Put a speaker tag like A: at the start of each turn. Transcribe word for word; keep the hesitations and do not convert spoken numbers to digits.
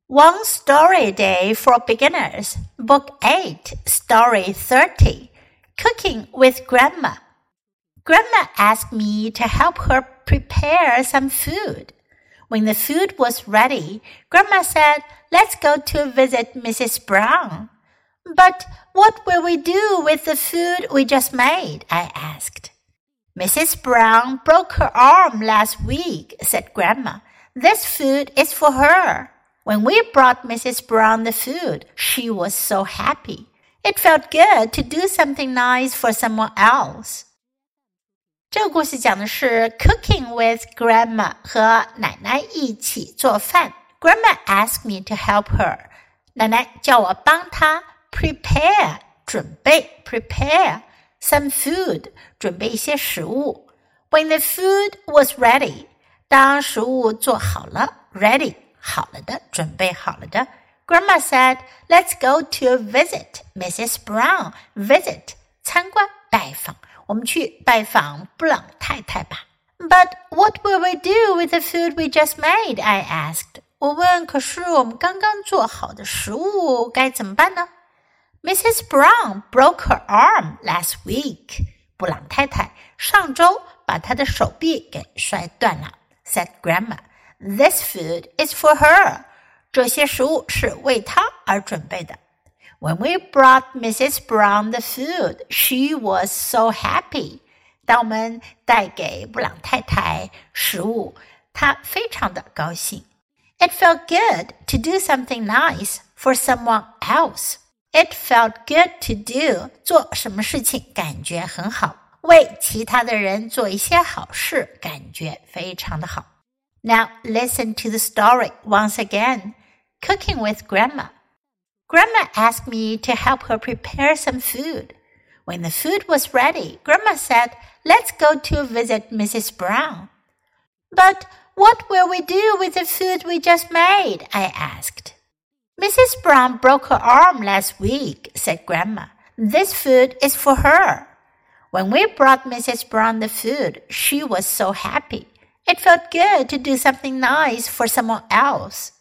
A: One Story Day for Beginners, Book eight, Story thirty, Cooking with Grandma. Grandma asked me to help her prepare some food. When the food was ready, Grandma said, "Let's go to visit Missus Brown." "But what will we do with the food we just made?" I asked. "Missus Brown broke her arm last week," said Grandma. "This food is for her.When we brought Missus Brown the food, she was so happy. It felt good to do something nice for someone else. 这个故事讲的是 Cooking with Grandma 和奶奶一起做饭。Grandma asked me to help her. 奶奶叫我帮她 prepare 准备 prepare some food 准备一些食物。When the food was ready, 当食物做好了 ready好了的，准备好了的。Grandma said, "Let's go to visit Missus Brown." Visit 参观拜访，我们去拜访布朗太太吧。But what will we do with the food we just made? I asked. 我问，可是我们刚刚做好的食物该怎么办呢？ Missus Brown broke her arm last week. 布朗太太上周把她的手臂给摔断了 said Grandma.This food is for her. 这些食物是为她而准备的。When we brought Missus Brown the food, she was so happy. 当我们带给布朗太太食物，她非常的高兴。It felt good to do something nice for someone else. It felt good to do. 做什么事情感觉很好，为其他的人做一些好事，感觉非常的好。Now listen to the story once again. Cooking with Grandma. Grandma asked me to help her prepare some food. When the food was ready, Grandma said, "Let's go to visit Missus Brown." But what will we do with the food we just made? I asked. Missus Brown broke her arm last week, said Grandma. This food is for her. When we brought Missus Brown the food, she was so happy.It felt good to do something nice for someone else.